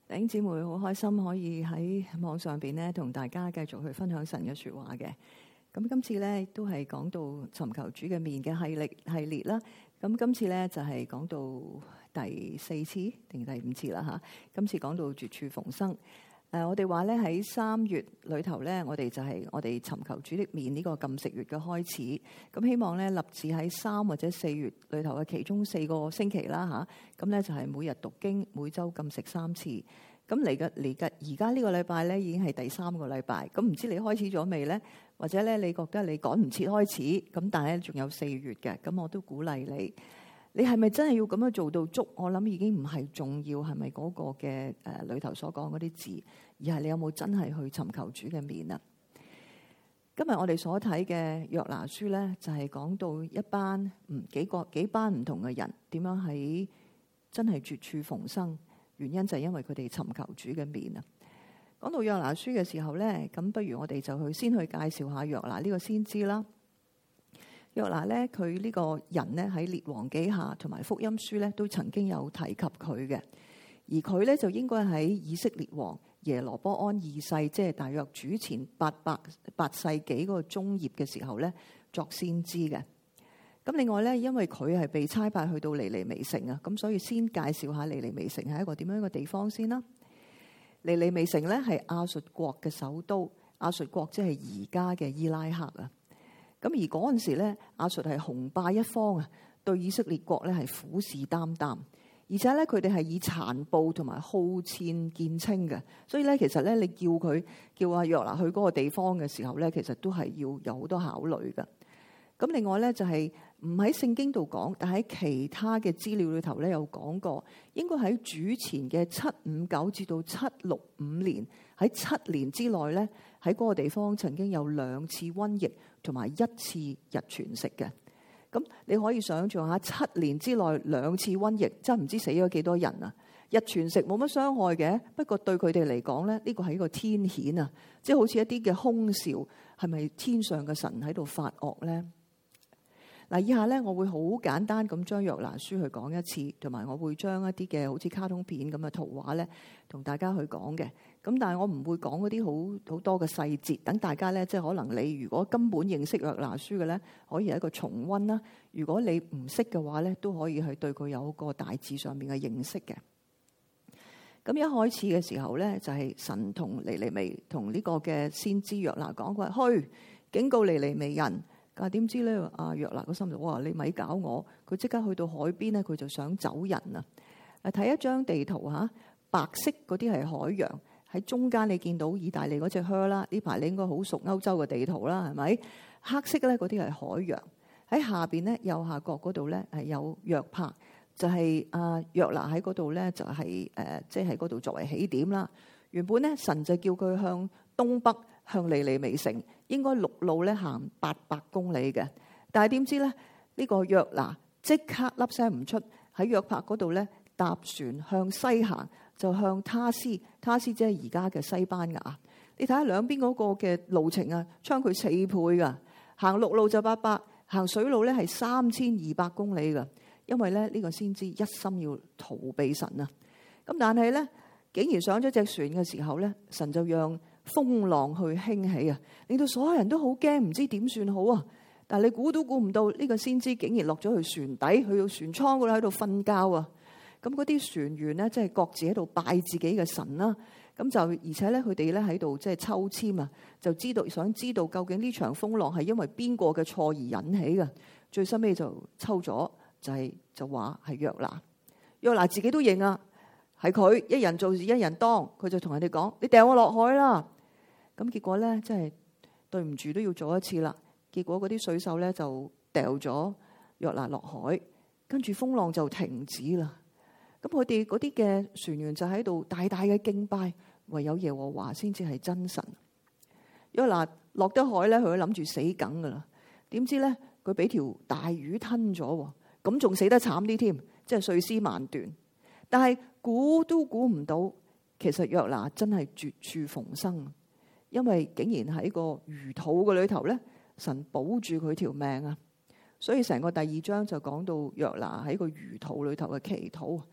弟兄姊妹好開心可以喺網上邊咧同大家繼續去分享神嘅說話嘅。咁今次咧都係講到尋求主嘅面嘅系列啦。咁今次咧就係講到第4次定第5次啦吓。今次講到絕處逢生。我哋話咧喺3月裏頭咧，我哋就係我哋尋求主的面呢個禁食月嘅開始。咁希望咧立志喺3或者4月裏頭嘅其中4個星期啦吓。咁咧就係每日讀經，每週禁食3次。咁嚟緊而家呢個禮拜咧已經係第3個禮拜。咁唔知你開始咗未咧？或者咧你覺得你趕唔切開始？咁但係咧仲有4月嘅。咁我都鼓勵你。你係咪真係要咁樣做到足？我諗已經唔係重要，係咪嗰個嘅裏頭所講嗰啲字，而係你有冇真係去尋求主嘅面啊？今日我哋所睇嘅約拿書咧，就係講到一班幾班唔同嘅人點樣喺真係絕處逢生，原因就係因為佢哋尋求主嘅面啊。講到約拿書嘅時候咧，咁不如我哋就先去介紹下約拿呢個先知啦。約拿咧，佢呢個人咧喺列王記下同埋福音書咧都曾經有提及佢嘅，而佢咧就應該喺以色列王耶羅波安2世，即係大約主前8世紀嗰個中葉嘅時候咧作先知嘅。咁另外咧，因為佢係被差派去到尼尼微城啊，咁所以先介紹下尼尼微城係一個點樣嘅地方先啦。尼尼微城咧係亞述國嘅首都，亞述國即係而家嘅伊拉克啊。咁而嗰陣時咧，亞述係雄霸一方啊，對以色列國咧係虎視眈眈，而且咧佢哋係以殘暴同埋好戰見稱嘅，所以咧其實咧你叫阿約拿去嗰個地方嘅時候咧，其實都係要有好多考慮嘅。咁另外咧就係唔喺聖經度講，但喺其他嘅資料裏頭咧有講過，應該喺主前嘅759至到765年，喺7年之內咧喺嗰個地方曾經有2次瘟疫同埋1次日全食嘅。咁你可以想象下7年之內2次瘟疫，真係唔知死咗幾多人啊！日全食冇乜傷害嘅，不過對佢哋嚟講咧，呢個係一個天譴啊，即係好似一啲嘅兇兆，係咪天上嘅神喺度發惡咧？嗱，以下咧我會好簡單咁將約拿書去講一次，同埋我會將一啲嘅好似卡通片咁嘅圖畫咧，同大家去講嘅。咁但係我唔會講嗰啲好多嘅細節，等大家咧即係可能你如果根本認識約拿書嘅咧，可以係一個重溫啦。如果你唔識嘅話咧，都可以去對佢有個大致上面嘅認識嘅。咁一開始嘅時候咧，就係神同尼尼微同呢個嘅先知約拿講，佢話去警告尼尼微人。但係點知咧？阿約拿個心就哇，你咪搞我！佢即刻去到海邊咧，佢就想走人啊！睇一張地圖嚇，白色嗰啲係海洋，喺中間你見到意大利嗰隻靴啦。呢排你應該好熟歐洲嘅地圖啦，係咪？黑色咧嗰啲係海洋，喺下邊咧右下角嗰度咧係有約帕，就係阿約拿喺嗰度咧就係即係喺嗰度作為起點啦。原本咧神就叫佢向東北向尼尼微城。應該陸路咧行800公里嘅，但係點知咧呢個約拿即刻粒聲唔出，喺約帕嗰度咧搭船向西行，就向他斯即係而家嘅西班牙。你睇下兩邊嗰個嘅路程啊，差佢4倍噶。行陸路就800，行水路咧係3200公里噶。因為咧呢個先知一心要逃避神啊。咁但係咧竟然上咗隻船嘅時候咧，神就讓風浪去興起啊，令到所有人都好驚，唔知點算好啊！但係你估都估唔到，呢個先知竟然落咗去船底，去到船艙嗰度喺度瞓覺啊！咁嗰啲船員呢，即係各自喺度拜自己嘅神啦。咁就而且咧，佢哋咧喺度即係抽籤啊，就想知道究竟呢場風浪係因為邊個嘅錯而引起嘅。最收尾就抽咗，就話係約拿。約拿自己都認啊，係佢一人做事一人當，佢就同人哋講：你掟我落海啦！咁結果咧，真係對唔住都要做一次啦。結果嗰啲水手咧就掉咗約拿落海，跟住風浪就停止啦。咁佢哋嗰啲嘅船員就喺度大大嘅敬拜，唯有耶和華先至係真神。約拿落得海咧，佢都諗住死梗噶啦。點知咧，佢俾條大魚吞咗，咁仲死得慘啲添，即係碎屍萬段。但係估都估唔到，其實約拿真係絕處逢生。因為竟然喺個魚肚嘅裏頭咧，神保住佢條命啊！所以成個第2章就講到約拿喺個魚肚裏頭嘅祈禱。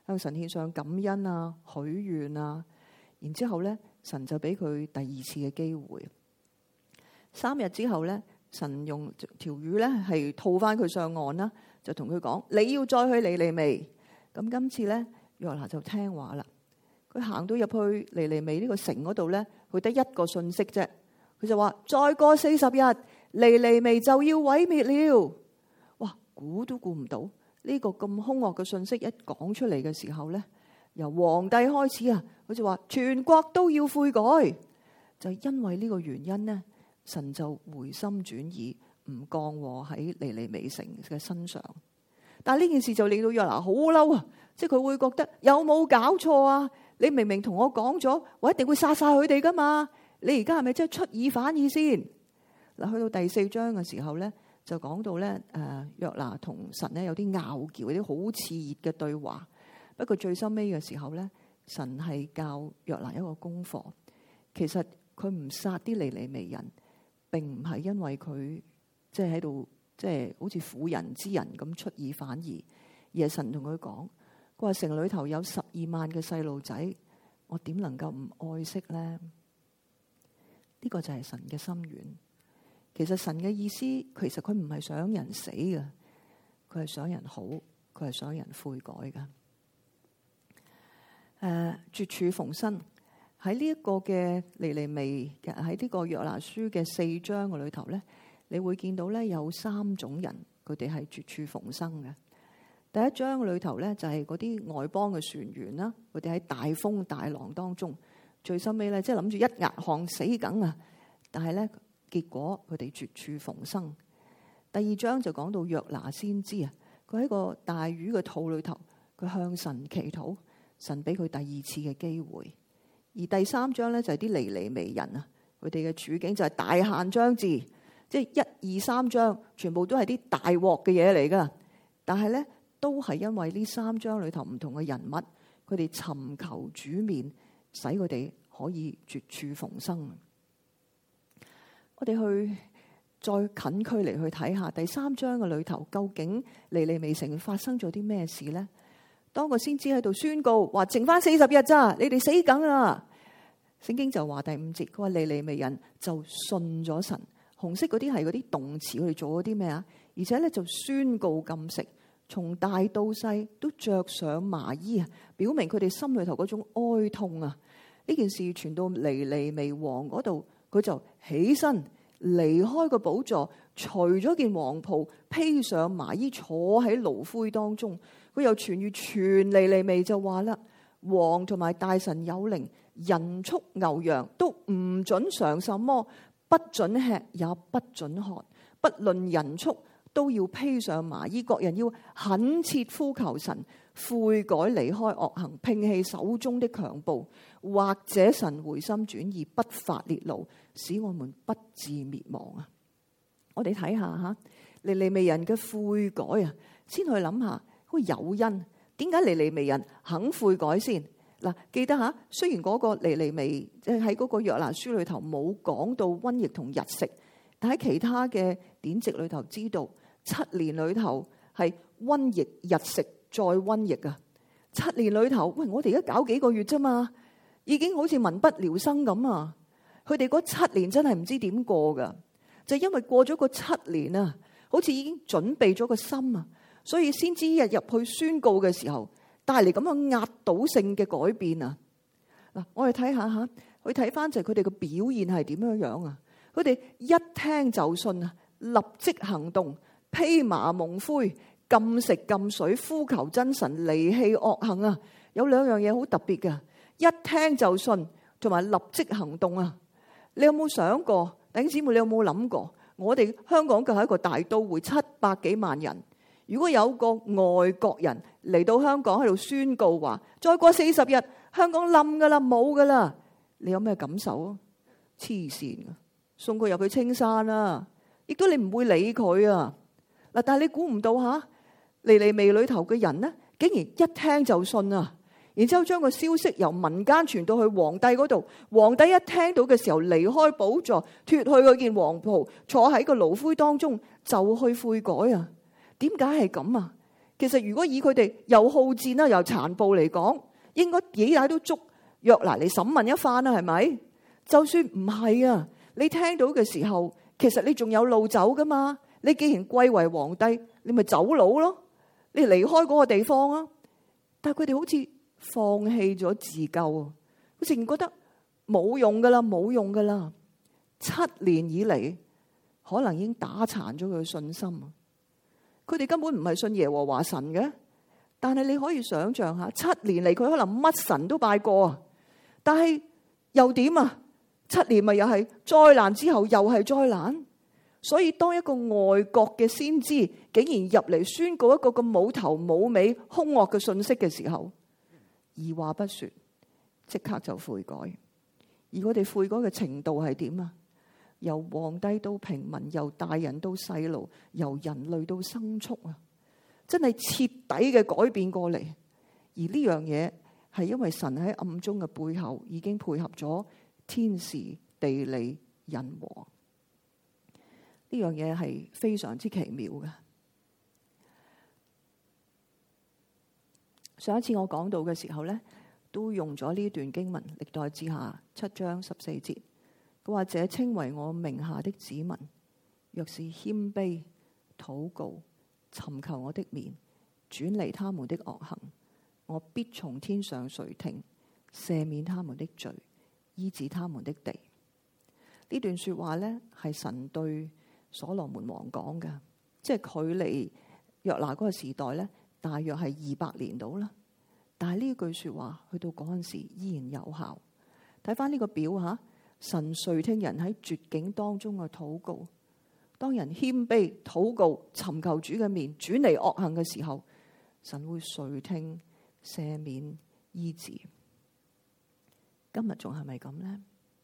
向神獻上感恩啊、許願啊。然之後咧，神就俾佢第二次嘅機會。3日之後咧，神用條魚咧係套翻佢上岸啦，就同佢講：你要再去尼尼微。咁今次咧，約拿就聽話啦。佢行到入去尼尼微呢個城嗰度咧，佢得一個信息啫。佢就話：再過40日，尼尼微就要毀滅了。哇！估都估唔到呢個咁兇惡嘅信息一講出嚟嘅時候咧，由皇帝開始啊，佢就話全國都要悔改。就因為呢個原因呢，神就回心轉意，唔降禍喺尼尼微城嘅身上。但係呢件事就令到約拿好嬲啊！即係佢會覺得有冇搞錯啊？你明明同我講咗，我一定會殺晒佢哋噶嘛？你而家係咪真係出爾反爾先？嗱，去到第4章嘅時候咧，就講到咧，約拿同神咧有啲拗撬，有啲好熾熱嘅對話。不過最深尾嘅時候咧，神係教約拿一個功課。其實佢唔殺啲尼尼微人，並唔係因為佢即係喺度即係好似婦人之仁咁出爾反爾，而係神同佢講：佢話城裏頭有12萬嘅細路仔，我點能夠唔愛惜咧？呢個就係神嘅心願。其實神嘅意思，其實佢唔係想人死嘅，佢係想人好，佢係想人悔改嘅。絕處逢生喺呢一個嘅尼尼微嘅喺呢個約拿書嘅4章嘅裏頭咧，你會見到咧有3種人，佢哋係絕處逢生嘅。第一章嘅裏頭咧就係嗰啲外邦嘅船員啦，佢哋喺大風大浪當中。最深尾咧，即係諗住一額汗死梗啊！但係咧，結果佢哋絕處逢生。第2章就講到約拿先知啊，佢喺個大魚嘅肚裏頭，佢向神祈禱，神俾佢第2次嘅機會。而第3章咧就係啲尼尼微人啊，佢哋嘅處境就係大限將至，即係1、2、3章全部都係啲大鑊嘅嘢嚟噶。但係咧，都係因為呢3章裏頭唔同嘅人物，佢哋尋求主面，使佢哋可以絕處逢生。我哋去再近距離去睇下第3章嘅裏頭，究竟尼尼微城發生咗啲咩事呢？當個先知喺度宣告話剩翻40日咋，你哋死梗啦！聖經就話第5節，佢話尼尼微人就信咗神。紅色嗰啲係嗰啲動詞，佢哋做咗啲咩啊？而且咧就宣告禁食，從大到細都着上麻衣啊，表明佢哋心裏頭嗰種哀痛啊！呢件事傳到尼尼微王嗰度，佢就起身離開個寶座，除咗件黃袍，披上麻衣，坐喺爐灰當中。佢又傳諭全尼尼微就話啦：王同埋大臣有靈，人畜牛羊都唔准嘗什麼，不准吃也不准喝，不論人畜都要披上麻衣。各人要懇切呼求神，悔改離開惡行，摒棄手中的強暴，或者神回心轉意，不發烈怒，使我們不致滅亡啊！我哋睇下吓尼尼微人嘅悔改啊，先去諗下個誘因，點解尼尼微人肯悔改先？嗱，記得吓，雖然嗰個尼尼微即係喺嗰個約拿書裏頭冇講到瘟疫同日食，但喺其他嘅典籍裏頭知道7年裏頭係瘟疫、日食再瘟疫啊！7年裏頭，喂，我哋而家搞幾個月啫嘛，已經好似民不聊生咁啊！佢哋嗰7年真係唔知點過噶，就因為過咗個7年啊，好似已經準備咗個心啊，所以先知日入去宣告嘅時候，帶嚟咁樣壓倒性嘅改變啊！嗱，我哋睇下吓，去睇翻就係佢哋嘅表現係點樣樣啊！佢哋一聽就信啊，立即行動，披麻蒙灰，禁食禁水，呼求真神，離棄惡行啊！有2樣嘢好特別嘅，一聽就信，同埋立即行動啊！你有冇想過，弟兄姊妹，你有冇諗過？我哋香港嘅係一個大都會，700幾萬人。如果有個外國人嚟到香港喺度宣告話，再過40日香港冧噶啦，冇噶啦，你有咩感受啊？黐線啊！送佢入去青山啦，亦都你唔會理佢啊！嗱，但係你估唔到吓，尼尼微裏頭嘅人呢，竟然一聽就信啊！然之後將個消息由民間傳到去皇帝嗰度，皇帝一聽到嘅時候，離開寶座，脫去嗰件黃袍，坐喺個爐灰當中就去悔改啊！點解係咁啊？ 其實如果以佢哋又好戰啦，又殘暴嚟講，應該幾大都捉約拿嚟審問一番啦，係咪？就算唔係啊，你聽到嘅時候，其實你仲有路走噶嘛？你既然貴為皇帝，你咪走佬咯，你離開嗰個地方啊！但係佢哋好似放棄咗自救啊，好似覺得冇用噶啦，冇用噶啦。7年以嚟，可能已經打殘咗佢嘅信心啊！佢哋根本唔係信耶和華神嘅，但係你可以想象下，7年嚟佢可能乜神都拜過啊，但係又點啊？7年咪又係災難之後又係災難，所以當一個外國嘅先知竟然入嚟宣告一個咁冇頭冇尾兇惡嘅信息嘅時候，二話不說，即刻就悔改。而我哋悔改嘅程度係點啊？由皇帝到平民，由大人到細路，由人類到牲畜啊，真係徹底嘅改變過嚟。而呢樣嘢係因為神喺暗中嘅背後已經配合咗天時地利人和，呢樣嘢係非常之奇妙嘅。上一次我講到嘅時候呢，都用咗呢段經文，歷代志下7章14節。佢話：這稱為我名下的子民，若是謙卑禱告，尋求我的面，轉離他們的惡行，我必從天上垂聽，赦免他們的罪，醫治他們的地。呢段說話呢，係神對所羅門王講嘅，即係距離約拿嗰個時代呢，大約係200年到啦。但係呢句說話去到嗰陣時依然有效。睇翻呢個表吓。神垂聽人喺絕境當中嘅禱告，當人謙卑禱告，尋求主嘅面，轉離惡行嘅時候，神會垂聽、赦免、醫治。今日仲係咪咁呢？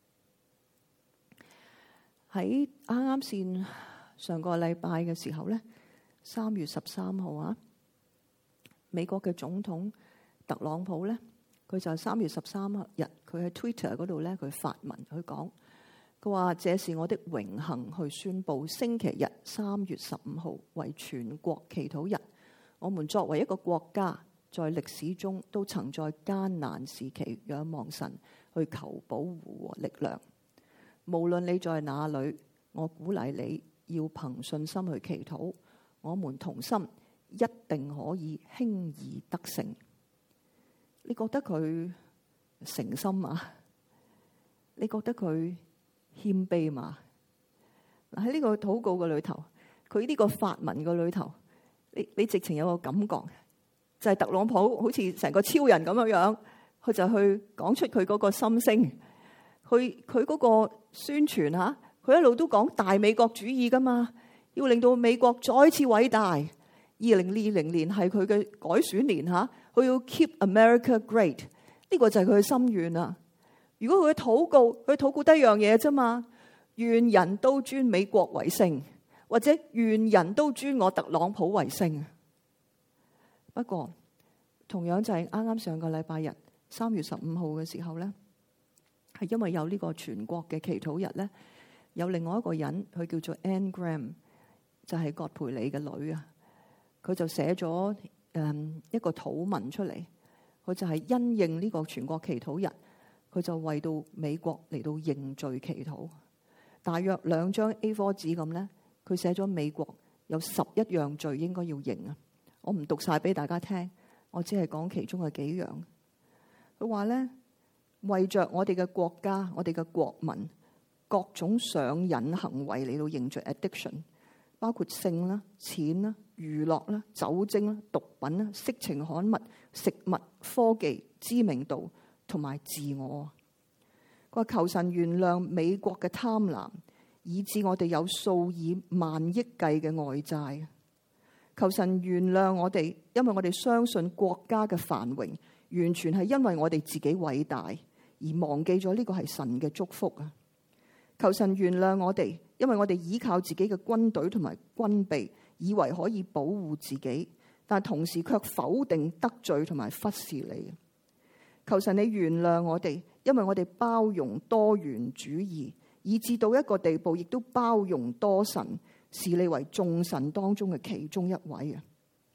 喺啱啱先上個禮拜嘅時候呢，3月13號啊，美國嘅總統特朗普呢。佢就係3月13日，佢喺 Twitter 嗰度咧，佢發文去講，佢話：這是我的榮幸去宣佈星期日3月15號為全國祈禱日。我們作為一個國家，在歷史中都曾在艱難時期仰望神去求保護和力量。無論你在哪裏，我鼓勵你要憑信心去祈禱。我們同心，一定可以輕易得勝。你覺得佢誠心嘛？你覺得佢謙卑嘛？喺呢個禱告嘅裏頭，佢呢個發文嘅裏頭，你直情有個感覺，就係特朗普好似成個超人咁樣樣，佢就去講出佢嗰個心聲，佢嗰個宣傳吓，佢一路都講大美國主義噶嘛，要令到美國再次偉大。2020年係佢嘅改選年吓，佢要 keep America great， 呢個就係佢嘅心願啦。如果佢禱告得一樣嘢啫嘛，願人都尊美國為聖，或者願人都尊我特朗普為聖。不過同樣就係啱啱上個禮拜日3月15號嘅時候咧，係因為有呢個全國嘅祈禱日咧，有另外一個人佢叫做 Anne Graham， 就係葛培理嘅女啊。佢就寫咗一個禱文出嚟，佢就係因應呢個全國祈禱日，佢就為到美國嚟到認罪祈禱，大約2張 A4 紙咁咧，佢寫咗美國有11樣罪應該要認啊！我唔讀晒俾大家聽，我只係講其中嘅幾樣。佢話咧，為着我哋嘅國家、我哋嘅國民各種上癮行為嚟到認罪 addiction， 包括性啦、錢啦、娛樂啦、酒精啦、毒品啦、色情刊物、食物、科技、知名度同埋自我。佢話求神原諒美國嘅貪婪，以致我哋有數以萬億計嘅外債。求神原諒我哋，因為我哋相信國家嘅繁榮完全係因為我哋自己偉大，而忘記咗呢個係神嘅祝福啊！求神原諒我哋，因為我哋依靠自己嘅軍隊同埋軍備，以為可以保護自己，但同時卻否定、得罪同埋忽視你。求神你原諒我哋，因為我哋包容多元主義，以至到一個地步，亦都包容多神，視你為眾神當中嘅其中一位啊！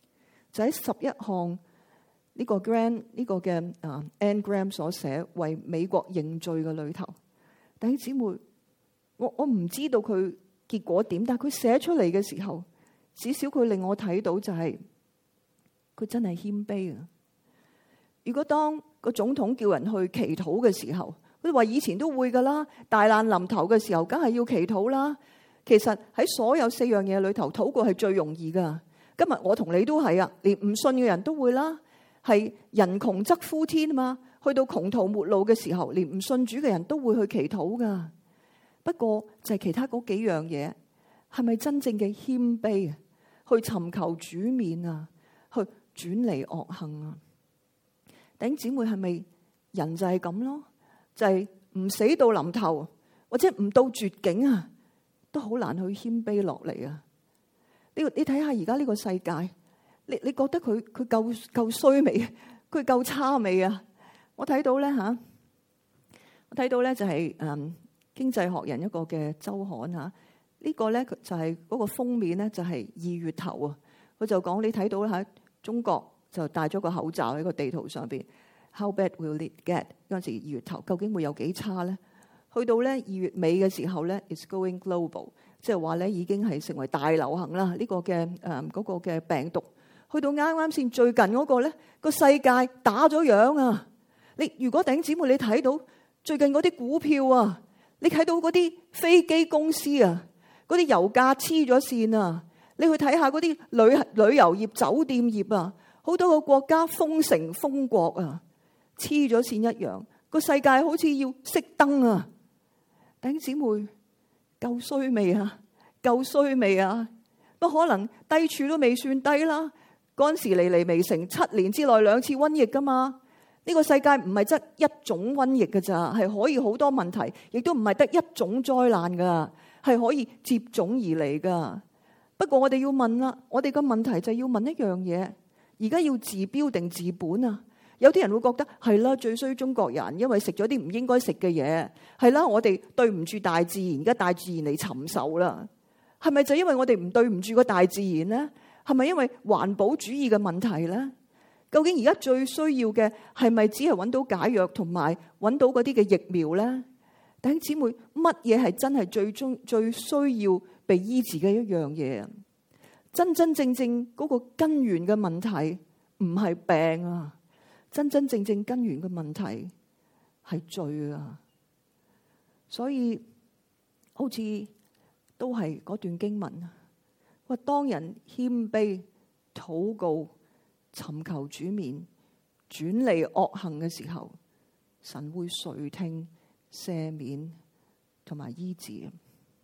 就喺11項呢個 Grant 呢個嘅Anne Graham 所寫為美國認罪嘅裏頭。弟兄姊妹，我唔知道佢結果點，但係佢寫出嚟嘅時候，至少佢令我睇到就係佢真係謙卑啊！如果當個總統叫人去祈禱嘅時候，佢話以前都會噶啦，大難臨頭嘅時候梗係要祈禱啦。其實喺所有4樣嘢裏頭，禱告係最容易噶。今日我同你都係啊，連唔信嘅人都會啦。係人窮則呼天啊嘛，去到窮途末路嘅時候，連唔信主嘅人都會去祈禱噶。不過就係其他嗰幾樣嘢，係咪真正嘅謙卑啊？去尋求主面啊，去轉離惡行啊？弟兄姊妹，係咪人就係咁咯？就係唔死到臨頭，或者唔到絕境啊，都好難去謙卑落嚟啊！你睇下而家呢個世界，你覺得佢夠衰未？佢夠差未啊？我睇到咧我睇到咧就係經濟學人一個嘅週刊嚇，呢個咧就係嗰個封面咧就係2月頭啊，佢就講你睇到喺中國就戴咗個口罩喺個地圖上邊 ，How bad will it get？ 嗰陣時2月頭究竟會有幾差咧？去到咧2月尾嘅時候咧 ，it's going global， 即係話咧已經係成為大流行啦。呢個嘅嗰個嘅病毒，去到啱啱先最近嗰個咧，個世界打咗樣啊！你如果弟兄姊妹你睇到最近嗰啲股票啊，你睇到嗰啲飛機公司啊，嗰啲油價黐咗線啊，你去睇下嗰啲旅遊業、酒店業啊，好多個國家封城封國啊，黐咗線一樣，個世界好似要熄燈啊！弟兄姊妹，夠衰未啊？夠衰未啊？不可能低處都未算低啦。嗰陣時尼尼微城7年之內2次瘟疫噶嘛？呢個世界唔係得一種瘟疫噶咋，係可以好多問題，亦都唔係得一種災難噶，係可以接踵而嚟噶。不過我哋要問啦，我哋個問題就係要問一樣嘢：而家要治標定治本啊？有啲人會覺得係啦，最衰中國人，因為食咗啲唔應該食嘅嘢，係啦，我哋對唔住大自然，而家大自然嚟尋仇啦。係咪就因為我哋唔對唔住個大自然呢？係咪因為環保主義嘅問題呢？究竟而家最需要嘅係咪只係揾到解藥同埋揾到嗰啲嘅疫苗呢？弟兄姊妹，乜嘢係真係最需要被醫治嘅一樣嘢？真真正正嗰個根源嘅問題唔係病啊！真真正正根源嘅問題係罪啊！所以好似都係嗰段經文啊，話當人謙卑禱告尋求主面轉離惡行嘅時候，神會垂聽赦免同埋醫治。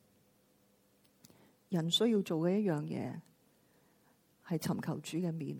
人需要做嘅一樣嘢係尋求主嘅面。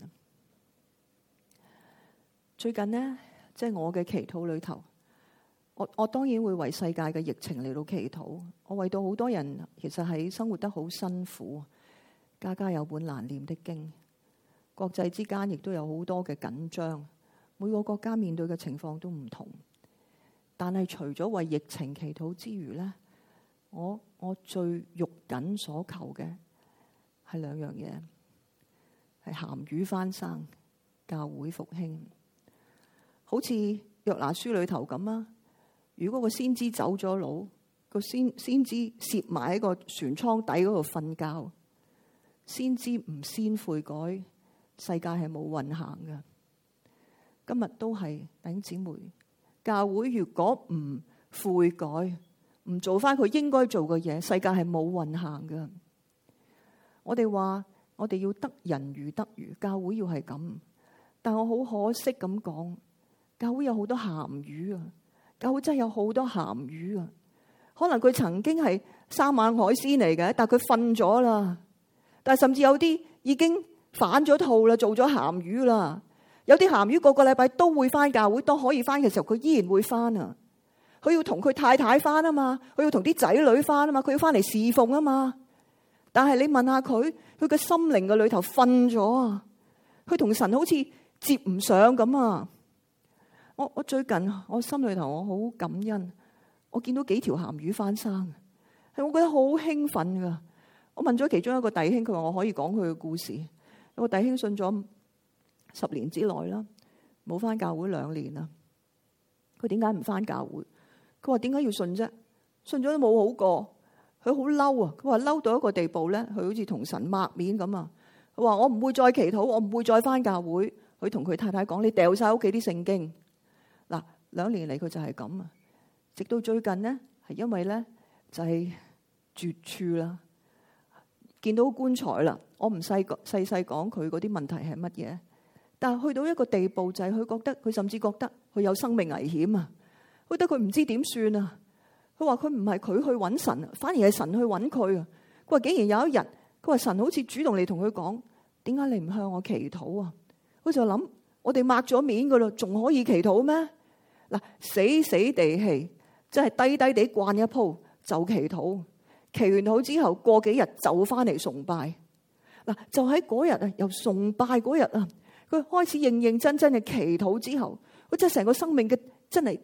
最近呢，即係我嘅祈禱裏頭，我當然會為世界嘅疫情嚟到祈禱。我為到好多人其實喺生活得好辛苦，家家有本難念的經，國際之間亦都有好多嘅緊張，每個國家面對嘅情況都唔同。但係除咗為疫情祈禱之餘呢，我最肉緊所求嘅係2樣嘢，係鹹魚翻生，教會復興。好似約拿書裏頭咁啊！如果個先知走咗佬，個先知攝埋喺個船艙底嗰度瞓覺，先知唔先悔改，世界係冇運行嘅。今日都係弟兄姊妹，教會如果唔悔改，唔做翻佢應該做嘅嘢，世界係冇運行嘅。我哋話我哋要得人如得魚，教會要係咁，但我好可惜咁講。教會有好多鹹魚啊！教會真係有好多鹹魚啊！可能佢曾經係3晚海鮮嚟嘅，但係佢瞓咗啦。但係甚至有啲已經反咗套啦，做咗鹹魚啦。有啲鹹魚個禮拜都會翻教會，當可以翻嘅時候，佢依然會翻啊！佢要同佢太太翻啊嘛，佢要同啲仔女翻啊嘛，佢要翻嚟侍奉啊嘛。但係你問下佢嘅心靈嘅裏頭瞓咗啊！佢同神好似接唔上咁啊！我最近我心裏頭我好感恩，我見到幾條鹹魚翻生，係我覺得好興奮噶。我問咗其中一個弟兄，佢話我可以講佢嘅故事。有個弟兄信咗 10年之內啦，冇返教會2年啦。佢點解唔返教會？佢話點解要信啫？信咗都冇好過。佢好嬲啊！佢話嬲到一個地步咧，佢好似同神抹面咁啊！佢話我唔會再祈禱，我唔會再返教會。佢同佢太太講：你掉晒屋企啲聖經。嗱，2年嚟佢就係咁啊！直到最近呢，係因為咧就係絕處啦，見到棺材啦。我唔細講佢嗰啲問題係乜嘢，但係去到一個地步就係佢甚至覺得佢有生命危險啊！覺得佢唔知點算啊！佢話佢唔係佢去揾神，反而係神去揾佢啊！佢話竟然有一日，佢話神好似主動嚟同佢講：點解你唔向我祈禱啊？佢就諗：我哋抹咗面噶啦，仲可以祈禱咩？嗱，死死地氣，即係低低地慣一鋪就祈禱，祈完禱之後過幾日就翻嚟崇拜。嗱，就喺嗰日啊，由崇拜嗰日啊，佢開始認認真真嘅祈禱之後，佢真係成個生命嘅真係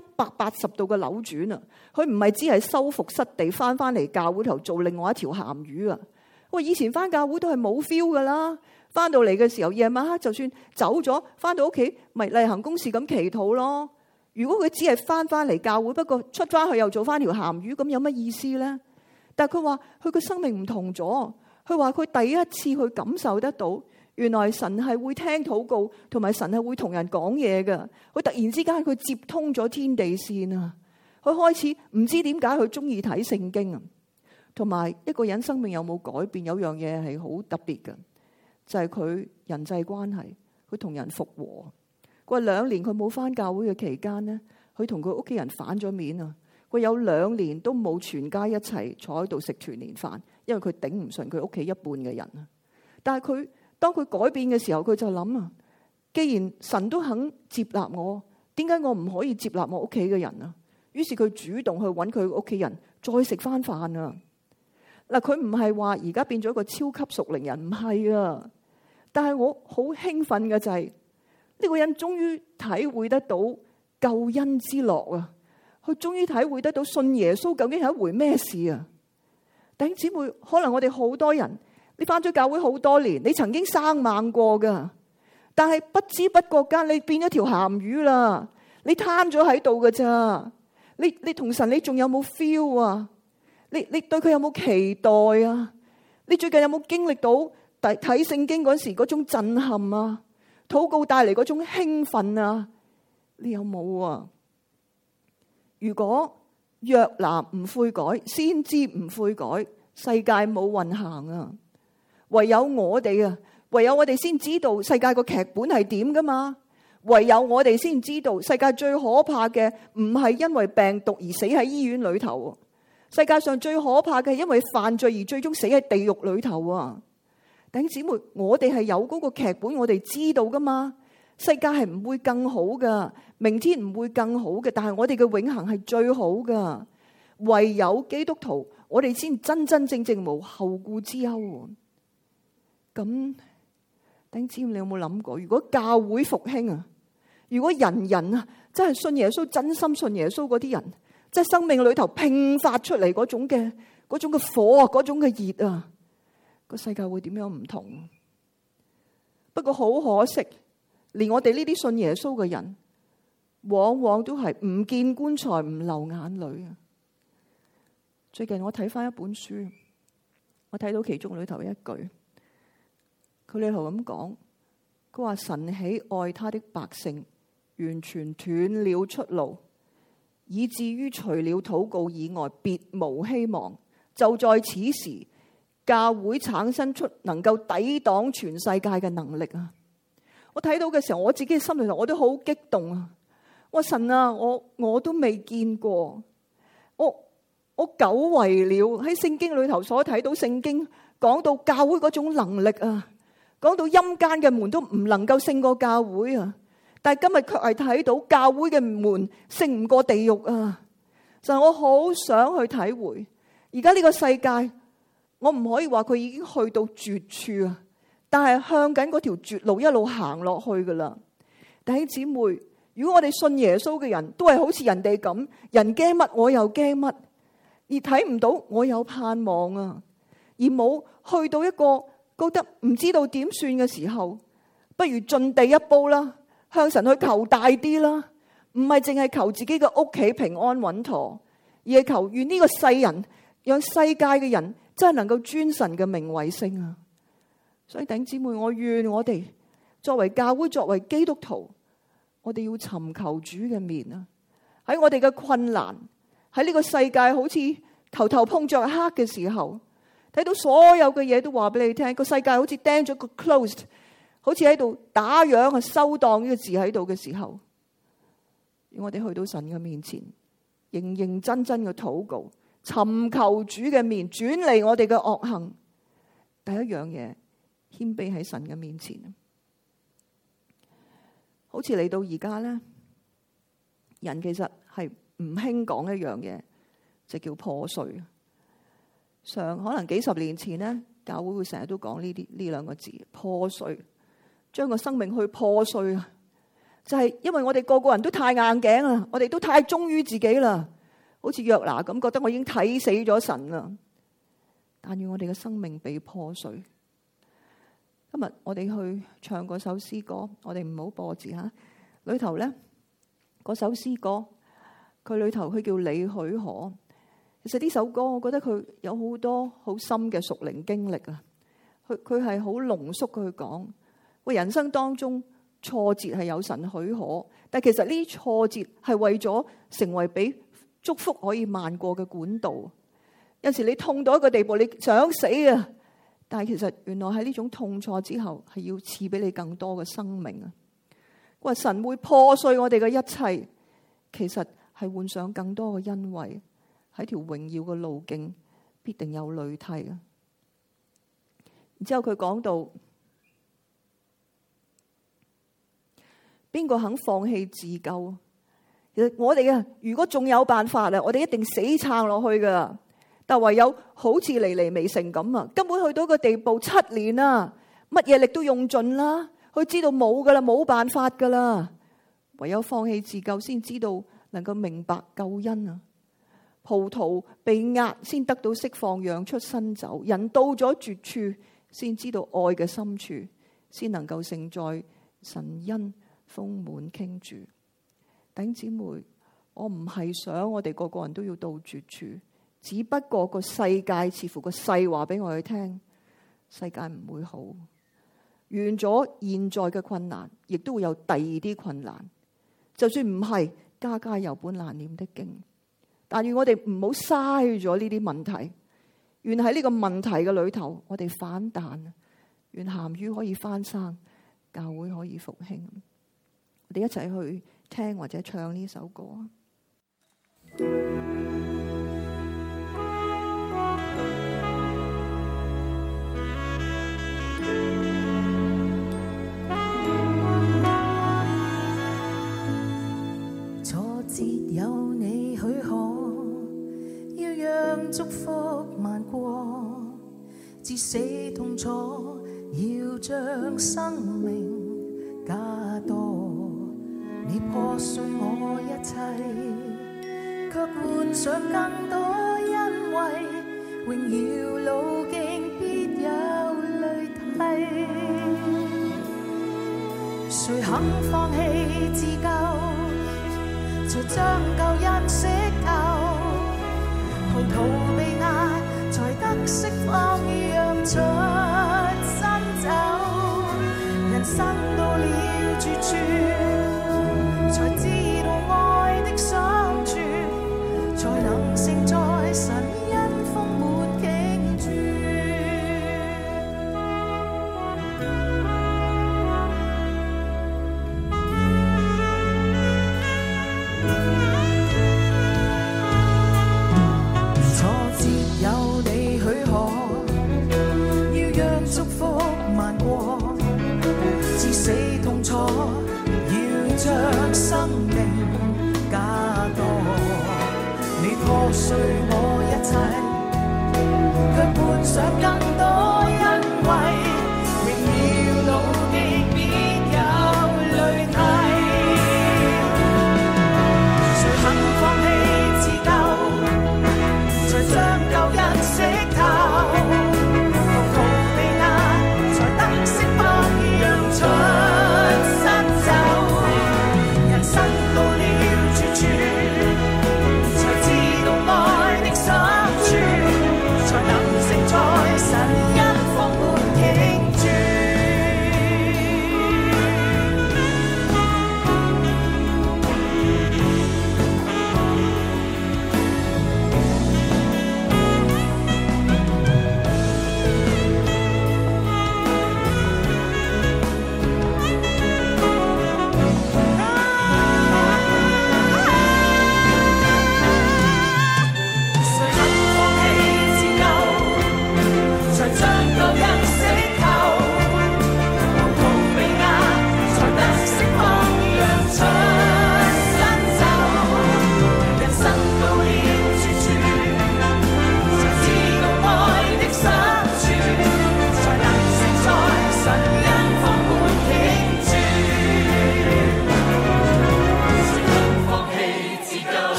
180度嘅扭轉啊！佢唔係只係收復失地翻嚟教會頭做另外一條鹹魚啊！我以前翻教會都係冇 feel 噶啦，翻到嚟嘅時候夜晚黑就算走咗，翻到屋企咪例行公事咁祈禱咯。如果佢只係翻嚟教會，不過出翻去又做翻條鹹魚，咁有乜意思咧？但係佢話佢個生命唔同咗，佢話佢第一次去感受得到，原來神係會聽禱告，同埋神係會同人講嘢㗎。佢突然之間佢接通咗天地線啊！佢開始唔知點解佢中意睇聖經啊！同埋一個人生命有冇改變，有樣嘢係好特別嘅，就係佢人際關係，佢同人復和。佢話2年佢冇返教會嘅期間呢，佢同佢屋企人反咗面啊！佢有2年都冇全家一齊坐喺度食團年飯，因為佢頂唔順佢屋企一半嘅人啊！但係當佢改變嘅時候，佢就諗啊，既然神都肯接納我，點解我唔可以接納我屋企嘅人啊？於是佢主動去揾佢屋企人再食翻飯啊！嗱，佢唔係話而家變咗一個超級屬靈人，唔係啊！但係我好興奮嘅就係呢個人終於體會得到救恩之樂啊！佢終於體會得到信耶穌究竟係一回咩事啊！弟兄姊妹，可能我哋好多人，你返咗教會好多年，你曾經生猛過噶，但係不知不覺間你變咗條鹹魚啦，你攤咗喺度噶咋？你同神你仲有冇 feel 啊？你對佢有冇期待啊？你最近有冇經歷到睇聖經嗰時嗰種震撼啊？禱告帶嚟嗰種興奮啊？你有冇啊？如果約拿唔悔改，先知唔悔改，世界冇運行啊！唯有我哋啊，唯有我哋先知道世界個劇本係點噶嘛？唯有我哋先知道世界最可怕嘅唔係因為病毒而死喺醫院裏頭，世界上最可怕嘅係因為犯罪而最終死喺地獄裏頭啊！弟兄姊妹，我哋係有嗰個劇本，我哋知道噶嘛？世界係唔會更好噶，明天唔會更好嘅，但係我哋嘅永恆係最好噶。唯有基督徒，我哋先真真正正無後顧之憂。咁，弟兄姊妹，你有冇諗過？如果教會復興啊，如果人人啊真係信耶穌，真心信耶穌嗰啲人，即係生命裏頭迸發出嚟嗰種嘅火啊，嗰種嘅熱啊，個世界會點樣唔同？不過好可惜，連我哋呢啲信耶穌嘅人，往往都係唔見棺材唔流眼淚啊！最近我睇翻一本書，我睇到其中裏頭一句。佢裏頭咁講，佢話神喜愛他的百姓，完全斷了出路，以至於除了禱告以外，別無希望。就在此時，教會產生出能夠抵擋全世界嘅能力啊！我睇到嘅時候，我自己心裏頭我都好激動啊！我神啊，我都未見過，我久違了喺聖經裏頭所睇到聖經講到教會嗰種能力啊！講到陰間嘅門都唔能夠勝過教會啊！但係今日卻係睇到教會嘅門勝唔過地獄啊！就係我好想去體會，而家呢個世界，我唔可以話佢已經去到絕處啊！但係向緊嗰條絕路一路行落去噶啦。弟兄姊妹，如果我哋信耶穌嘅人都係好似人哋咁，人驚乜我又驚乜，而睇唔到我有盼望啊，而冇去到一個覺得唔知道點算嘅時候， 不如進第一步啦，向神去求大啲啦，唔係淨係求自己嘅屋企平安穩妥，而係求願呢個世人，讓世界嘅人真係能夠尊神嘅名為聖啊！所以弟兄姊妹，我願我哋作為教會，作為基督徒，我哋要尋求主嘅面啊！喺我哋嘅困難，喺呢個世界好似頭頭碰着黑嘅時候，睇到所有嘅嘢都話俾你聽，個世界好似釘咗個 closed， 好似喺度打烊啊收檔呢個字喺度嘅時候，我哋去到神嘅面前，認認真真嘅禱告，尋求主嘅面，轉離我哋嘅惡行。第一樣嘢，謙卑喺神嘅面前。好似嚟到而家咧，人其實係唔興講一樣嘢，就叫破碎。可能幾十年前咧，教會會成日都講呢兩個字，破碎，將個生命去破碎啊！就係因為我哋個個人都太硬頸啦，我哋都太忠於自己啦，好似約拿咁，覺得我已經睇死咗神啦。但願我哋嘅生命被破碎。今日我哋去唱嗰首詩歌，我哋唔好播字吓。裏頭咧，嗰首詩歌，佢裏頭佢叫你許可。其實呢首歌，我覺得佢有好多好深嘅屬靈經歷啊。佢係好濃縮去講，喂，人生當中挫折係有神許可，但其實呢啲挫折係為咗成為俾祝福可以漫過嘅管道。有時你痛到一個地步，你想死啊！但係其實原來喺呢種痛挫之後，係要賜俾你更多嘅生命啊！話神會破碎我哋嘅一切，其實係換上更多嘅恩惠，喺條榮耀嘅路徑必定有淚涕啊！然之後佢講到，邊個肯放棄自救？其實我哋如果仲有辦法啊，我哋一定死撐落去噶。但唯有好似尼尼微城咁啊，根本去到一個地步，7年啦，乜嘢力都用盡啦，佢知道冇噶啦，冇辦法噶啦，唯有放棄自救，先知道能夠明白救恩啊！葡萄被壓，先得到釋放，釀出新酒。人到咗絕處，先知道愛嘅深處，先能夠承載神恩豐滿傾注。弟兄姊妹，我唔係想我哋個個人都要到絕處。只不過個世界似乎個世話俾我哋聽，世界唔會好。完咗現在嘅困難，亦都會有第二啲困難。就算唔係，家家有本難念的經。但願我哋唔好嘥咗呢啲問題。願喺呢個問題嘅裏頭，我哋反彈。願鹹魚可以翻生，教會可以復興。我哋一齊去聽或者唱呢首歌。 有你許可，要讓祝福漫過，至死痛楚，要將生命加多。你破碎我一切，卻換上更多恩惠，榮耀路徑必有淚涕。誰肯放棄自救？才將救恩釋透，葡萄被壓，才得釋放，釀出新酒。人生到了絕處，才知道愛的相處，才能承載神恩豐滿傾注。將生命加多，你破碎我一切，卻換上更多恩惠，榮耀路徑必有淚涕。誰肯放棄自救，才將救恩釋透，葡萄被壓，才得釋放，釀出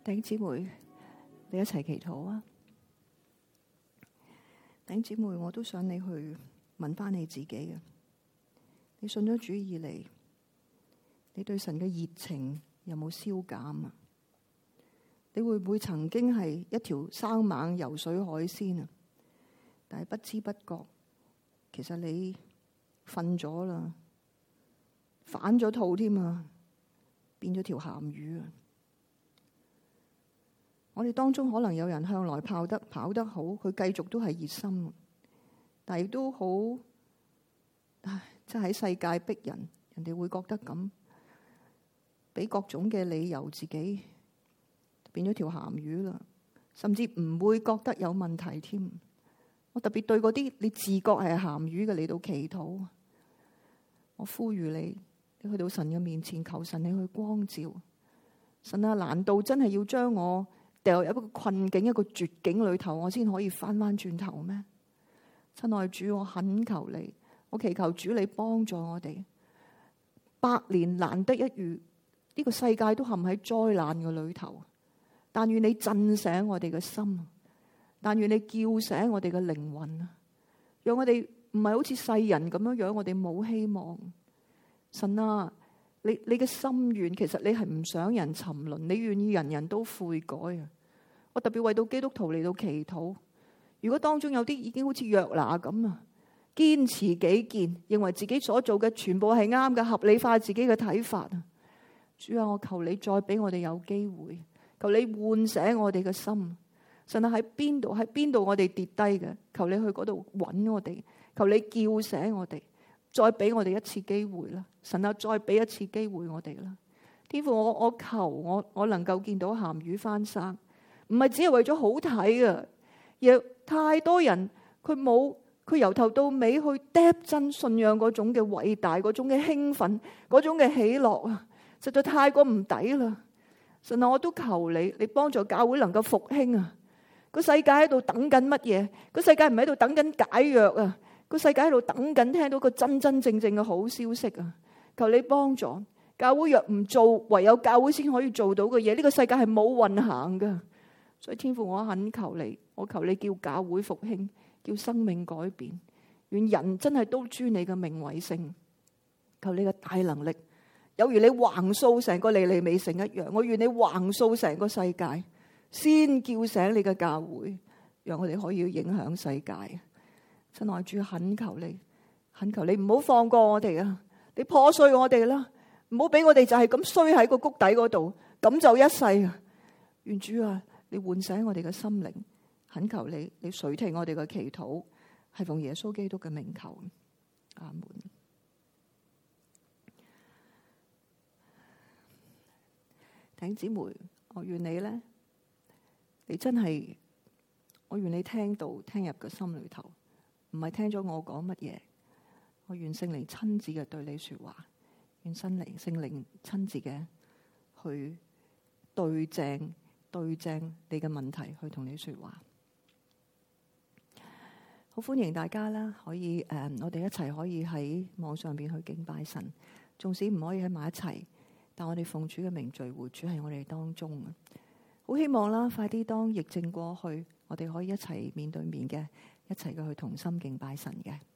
弟兄姊妹，你一齊祈禱啊！弟兄姊妹，我都想你去問翻你自己嘅。你信咗主以嚟，你對神嘅熱情有冇消減啊？你會唔會曾經係一條生猛游水海鮮啊？但係不知不覺，其實你瞓咗啦，反咗肚添啊，變咗條鹹魚啊！我哋當中可能有人向來跑得好，佢繼續都係熱心，但係亦都好，即係喺世界逼人，人哋會覺得咁，俾各種嘅理由自己變咗條鹹魚啦，甚至唔會覺得有問題添。我特別對嗰啲你自覺係鹹魚嘅嚟到祈禱，我呼籲你去到神嘅面前，求神你去光照。神啊，難道真係要將我掉入一個困境、一個絕境裏頭，我先可以翻轉頭咩？親愛主，我懇求你，我祈求主你幫助我哋。百年難得一遇，呢個世界都陷喺災難嘅裏頭，但願你震醒我哋嘅心，但願你叫醒我哋嘅靈魂啊！讓我哋唔係好似世人咁樣，我哋冇希望。神啊，你嘅心願其實你係唔想人沉淪，你願意人人都悔改啊！我特別為到基督徒嚟到祈禱，如果當中有啲已經好似約拿咁啊，堅持己見，認為自己所做嘅全部係啱嘅，合理化自己嘅睇法啊！主啊，我求你再俾我哋有機會，求你喚醒我哋嘅心。神啊，喺邊度我哋跌低嘅，求你去嗰度揾我哋，求你叫醒我哋，再俾我哋一次機會啦！神啊，再俾一次機會我哋啦！天父，我求我能夠見到鹹魚翻生。唔係只係為咗好睇啊！而太多人佢由頭到尾去嗒真信仰嗰種嘅偉大，嗰種嘅興奮，嗰種嘅喜樂啊，實在太過唔抵啦！神啊，我都求你幫助教會能夠復興啊！個世界喺度等緊乜嘢？個世界唔喺度等緊解藥啊！個世界喺度等緊聽到個真真正正嘅好消息啊！求你幫助教會，若唔做，唯有教會先可以做到嘅嘢，呢個世界係冇運行噶。所以天父，我懇求你，我求你叫教會復興，叫生命改變，願人真係都尊你嘅名為聖。求你嘅大能力，有如你橫掃成個尼尼微城一樣，我願你橫掃成個世界，先叫醒你嘅教會，讓我哋可以影響世界。親愛主，懇求你唔好放過我哋啊！你破碎我哋啦，唔好俾我哋就係咁衰喺個谷底嗰度，咁就一世啊！願主啊，你喚醒我哋嘅心靈，懇求你垂聽我哋嘅祈禱，係奉耶穌基督嘅名求，阿門。弟兄姊妹，我願你咧，我願你聽入個心裏頭，唔係聽咗我講乜嘢，我願聖靈親自嘅對你說話，願聖靈親自嘅去對正你嘅問題，去同你說話。好歡迎大家啦，可以我哋一齊可以喺網上邊去敬拜神，縱使唔可以喺埋一齊，但我哋奉主嘅名聚會，主喺我哋當中啊！好希望啦，快啲當疫症過去，我哋可以一齊面對面嘅，一齊嘅去同心敬拜神嘅。